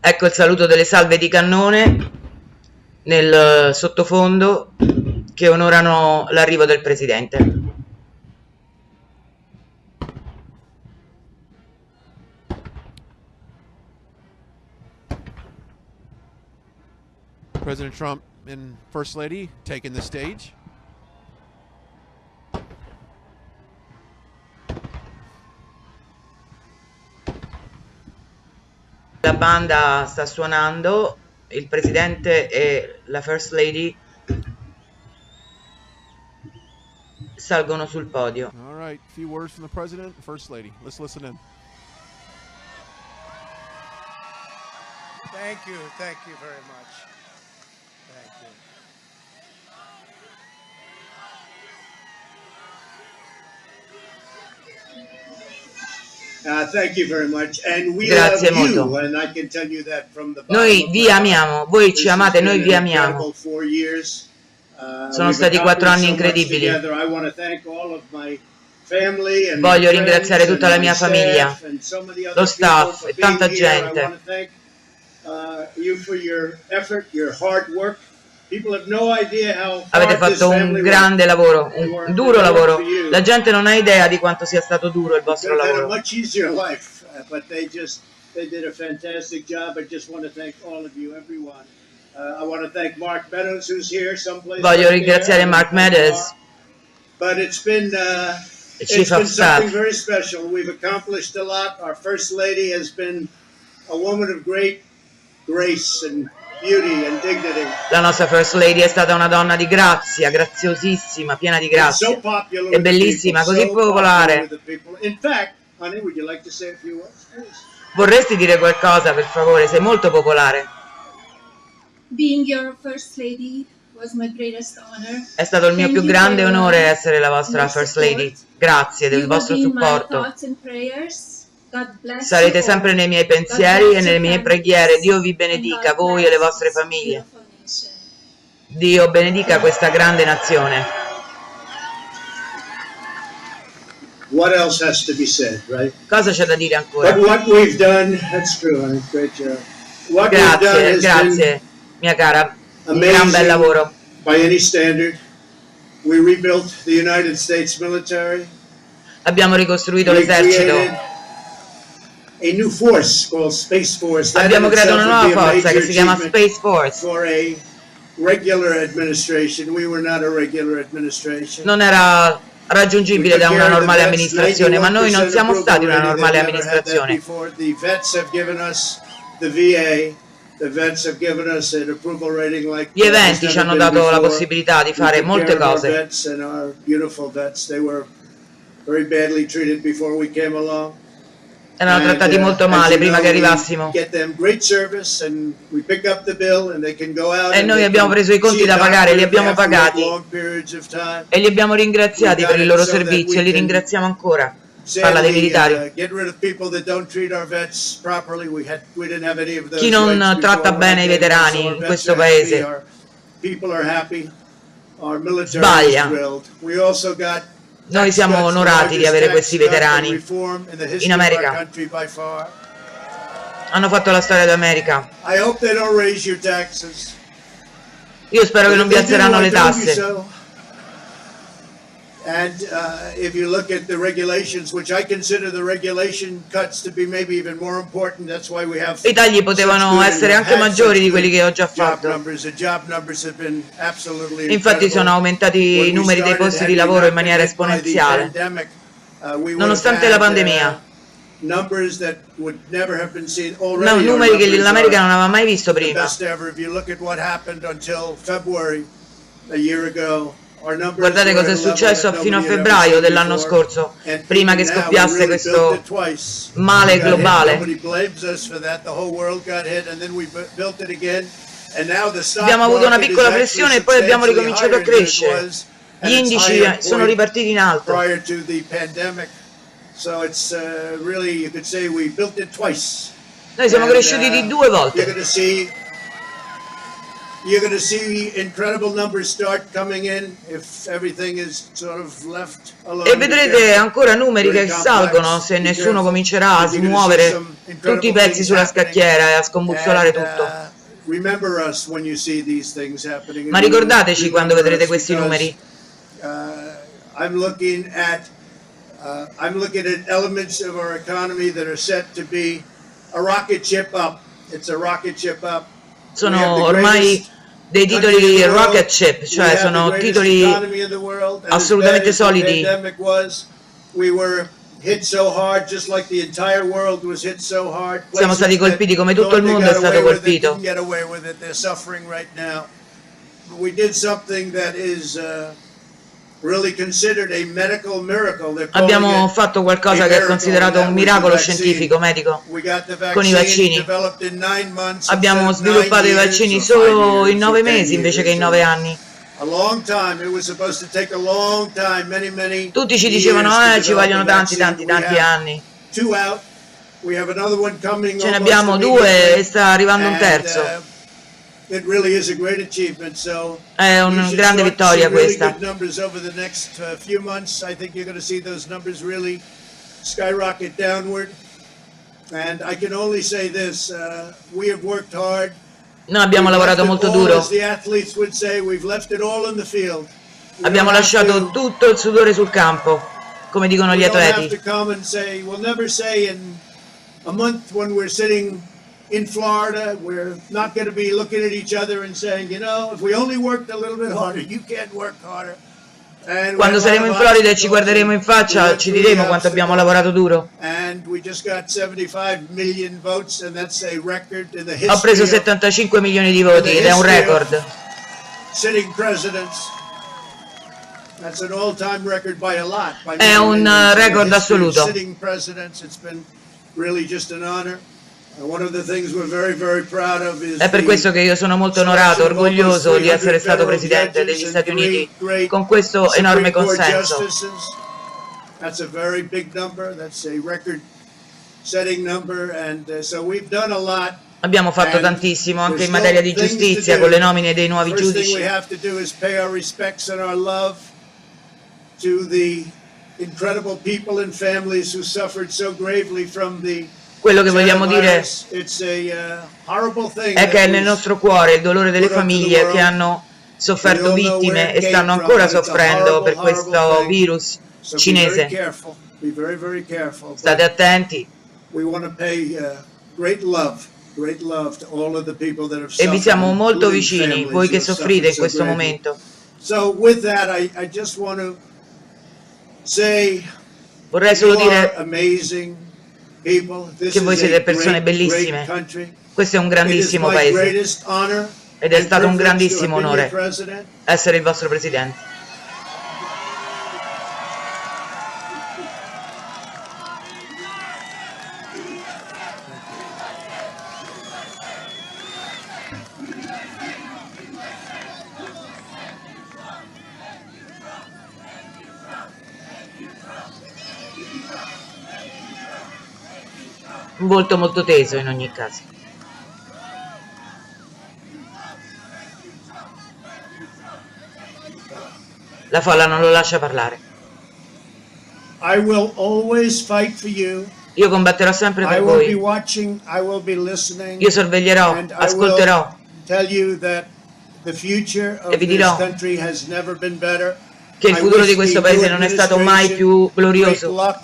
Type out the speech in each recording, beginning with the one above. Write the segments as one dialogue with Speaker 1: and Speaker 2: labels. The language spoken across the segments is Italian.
Speaker 1: Ecco il saluto delle salve di cannone nel sottofondo che onorano l'arrivo del presidente.
Speaker 2: President Trump and First Lady taking the stage.
Speaker 1: La banda sta suonando, il presidente e la First Lady salgono sul podio.
Speaker 2: All right, a few words from the President and First Lady. Let's listen in.
Speaker 3: Thank you very much. Thank you. Thank you very much. And we
Speaker 1: Grazie
Speaker 3: love you,
Speaker 1: molto.
Speaker 3: and I can tell you that from the bottom
Speaker 1: Noi
Speaker 3: of
Speaker 1: vi
Speaker 3: my heart.
Speaker 1: amiamo, voi ci
Speaker 3: This has
Speaker 1: amate,
Speaker 3: been
Speaker 1: noi
Speaker 3: an
Speaker 1: vi amiamo.
Speaker 3: incredible 4 years.
Speaker 1: Sono
Speaker 3: We've
Speaker 1: stati 4 anni
Speaker 3: accomplished so much
Speaker 1: incredibili.
Speaker 3: together. I want to thank all of my family and
Speaker 1: Voglio
Speaker 3: my
Speaker 1: ringraziare
Speaker 3: friends
Speaker 1: tutta la
Speaker 3: and
Speaker 1: mia
Speaker 3: my
Speaker 1: famiglia,
Speaker 3: staff and so many other
Speaker 1: lo staff
Speaker 3: people
Speaker 1: e
Speaker 3: for being
Speaker 1: tanta
Speaker 3: here.
Speaker 1: gente.
Speaker 3: I want to thank you for your effort, your hard work. People have no idea how
Speaker 1: Avete
Speaker 3: hard this
Speaker 1: fatto un
Speaker 3: family
Speaker 1: grande lavoro,
Speaker 3: They
Speaker 1: un
Speaker 3: worked
Speaker 1: duro lavoro.
Speaker 3: for you.
Speaker 1: La gente non ha idea di quanto sia stato duro il vostro
Speaker 3: Could have had a
Speaker 1: lavoro.
Speaker 3: much easier life, but they did a fantastic job. I just want to thank all of you, everyone. I want to thank Mark Meadows, who's here someplace.
Speaker 1: Voglio
Speaker 3: right
Speaker 1: ringraziare
Speaker 3: there.
Speaker 1: Mark Meadows,
Speaker 3: But it's been
Speaker 1: il Chief of
Speaker 3: something
Speaker 1: Staff.
Speaker 3: very special. We've accomplished a lot. Our First Lady has been a woman of great grace and beauty and dignity.
Speaker 1: La nostra First Lady è stata una donna di grazia, graziosissima, piena di
Speaker 3: And so
Speaker 1: grazia.
Speaker 3: popular
Speaker 1: È
Speaker 3: with the
Speaker 1: bellissima,
Speaker 3: people,
Speaker 1: così
Speaker 3: so popular
Speaker 1: popolare.
Speaker 3: with the people. In fact, honey, would you like to say a few words, please?
Speaker 1: Vorresti dire qualcosa, per favore? Sei molto popolare.
Speaker 4: Being your first lady was my greatest honor.
Speaker 1: È stato il mio
Speaker 4: Thank
Speaker 1: più
Speaker 4: you
Speaker 1: grande
Speaker 4: for
Speaker 1: onore essere la vostra
Speaker 4: your
Speaker 1: First
Speaker 4: support.
Speaker 1: Lady. Grazie del
Speaker 4: You will
Speaker 1: vostro
Speaker 4: be in my
Speaker 1: supporto.
Speaker 4: thoughts and prayers. God bless
Speaker 1: Sarete
Speaker 4: you all.
Speaker 1: sempre nei miei
Speaker 4: God
Speaker 1: pensieri
Speaker 4: bless
Speaker 1: e nelle
Speaker 4: your
Speaker 1: mie
Speaker 4: families.
Speaker 1: preghiere. Dio vi
Speaker 4: And
Speaker 1: benedica,
Speaker 4: God
Speaker 1: voi e le
Speaker 4: bless
Speaker 1: vostre
Speaker 4: this
Speaker 1: famiglie.
Speaker 4: beautiful nation.
Speaker 1: Dio benedica questa grande nazione.
Speaker 3: What else has to be said, right?
Speaker 1: Cosa c'è da dire ancora?
Speaker 3: But what we've done, that's true, honey, great job. What we've done
Speaker 1: Grazie,
Speaker 3: has
Speaker 1: grazie, mia cara. Un gran bel
Speaker 3: amazing
Speaker 1: lavoro.
Speaker 3: by any standard. We rebuilt the United States military.
Speaker 1: Abbiamo ricostruito
Speaker 3: We
Speaker 1: l'esercito.
Speaker 3: created a new force called Space Force. That
Speaker 1: Abbiamo
Speaker 3: in
Speaker 1: creato
Speaker 3: itself
Speaker 1: una
Speaker 3: would
Speaker 1: nuova
Speaker 3: be a
Speaker 1: forza
Speaker 3: major
Speaker 1: che si chiama
Speaker 3: achievement
Speaker 1: Space Force.
Speaker 3: for a regular administration. We were not a regular administration.
Speaker 1: Non era raggiungibile da una normale amministrazione, ma noi non siamo stati una normale amministrazione.
Speaker 3: The vets have given us the VA. The vets have given us an approval rating like
Speaker 1: Gli eventi ci hanno dato la possibilità di fare molte cose.
Speaker 3: Vets and our beautiful vets, they were very badly treated before we came along.
Speaker 1: Erano trattati molto male prima che arrivassimo. E noi abbiamo preso i conti da pagare, li abbiamo pagati e li abbiamo ringraziati per il loro servizio e li ringraziamo ancora. Parla dei militari. Chi non tratta bene i veterani in questo paese sbaglia. Noi siamo onorati di avere questi veterani in America. Hanno fatto la storia d'America. Io spero che non vi alzeranno le tasse.
Speaker 3: And if you look at the regulations, which I consider the regulation cuts to be maybe even more important, that's why we have
Speaker 1: I tagli potevano essere anche maggiori di quelli che ho già fatto. Infatti sono aumentati i numeri dei posti di lavoro in maniera esponenziale, nonostante la pandemia. Numeri che l'America non aveva mai visto prima. Guardate cosa è successo fino a febbraio dell'anno scorso, prima che scoppiasse questo male globale. Abbiamo avuto una piccola flessione e poi abbiamo ricominciato a crescere. Gli indici sono ripartiti in alto. Noi siamo cresciuti di 2 volte.
Speaker 3: You're going to see incredible numbers start coming in if everything is sort of left alone.
Speaker 1: E vedrete ancora numeri che salgono se nessuno comincerà a smuovere tutti i pezzi sulla scacchiera e a scombussolare tutto. Ma ricordateci quando vedrete questi numeri.
Speaker 3: I'm looking at elements of our economy that are set to be a rocket ship up. It's a rocket ship up.
Speaker 1: Sono ormai dei titoli rocket ship, cioè sono titoli assolutamente solidi. Siamo stati colpiti come tutto il mondo è stato colpito. Abbiamo fatto qualcosa che è considerato un miracolo scientifico, medico, con i vaccini. Abbiamo sviluppato i vaccini solo in 9 mesi invece che in 9 anni. Tutti ci dicevano ci vogliono tanti anni. Ce ne abbiamo 2 e sta arrivando un terzo. È una grande vittoria questa. Noi abbiamo lavorato molto duro. Abbiamo lasciato tutto il sudore sul campo, come dicono gli atleti.
Speaker 3: In Florida, we're not going to be looking at each other and saying, you know, if we only worked a little bit harder, you can't work harder.
Speaker 1: Quando saremo in Florida e ci guarderemo in faccia, ci diremo quanto abbiamo lavorato duro. Ho preso 75 milioni di voti ed è un record. È un record assoluto. È per questo che io sono molto onorato, orgoglioso di essere stato Presidente degli Stati Uniti con questo enorme consenso. Abbiamo fatto tantissimo anche in materia di giustizia con le nomine dei nuovi giudici. Quello che vogliamo dire è che è nel nostro cuore il dolore delle famiglie che hanno sofferto vittime e stanno ancora soffrendo per questo virus cinese. State attenti. E vi siamo molto vicini, voi che soffrite in questo momento. Vorrei solo dire che voi siete persone bellissime. Questo è un grandissimo paese ed è stato un grandissimo onore essere il vostro Presidente. Un volto molto teso in ogni caso. La folla non lo lascia parlare. Io combatterò sempre per voi. Io sorveglierò, ascolterò e vi dirò che il futuro di questo paese non è stato mai più glorioso.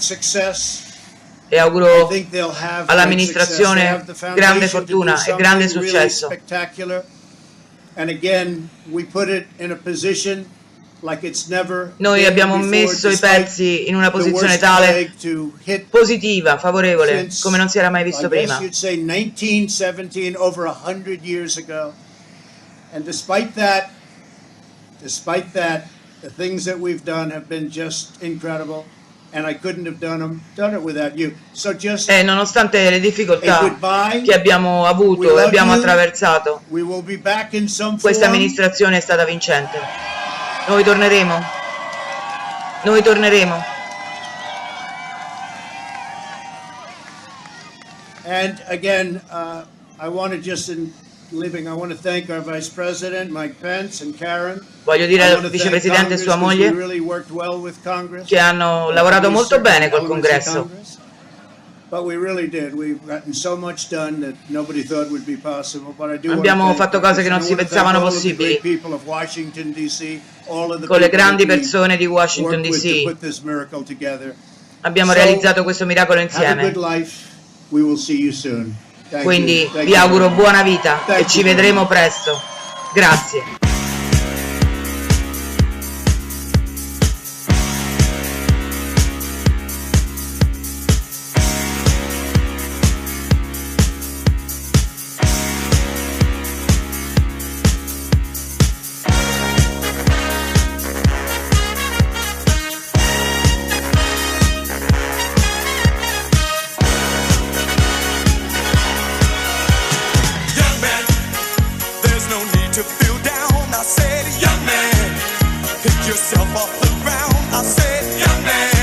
Speaker 1: E auguro all'amministrazione grande fortuna e grande successo. Noi abbiamo messo i pezzi in una posizione tale positiva, favorevole, come non si era mai visto prima.
Speaker 3: The things that we've done have been just incredible. And I couldn't have done it without you. So just
Speaker 1: nonostante le difficoltà che abbiamo avuto e abbiamo attraversato, questa amministrazione è stata vincente. Noi torneremo. Noi torneremo.
Speaker 3: And again, I want to just
Speaker 1: Voglio dire al vicepresidente e sua moglie che hanno lavorato molto bene col Congresso. Abbiamo fatto cose che non si pensavano possibili con le grandi persone di Washington DC. Abbiamo realizzato questo miracolo insieme. Quindi vi auguro buona vita e ci vedremo presto. Grazie.
Speaker 5: Yourself off the ground. I said, young man.